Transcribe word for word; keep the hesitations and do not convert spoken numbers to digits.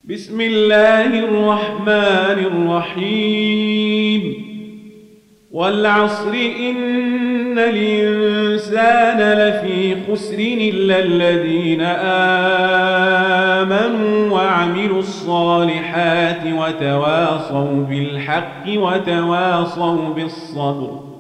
بسم الله الرحمن الرحيم والعصر إن الإنسان لفي خسر إلا الذين آمنوا وعملوا الصالحات وتواصوا بالحق وتواصوا بالصبر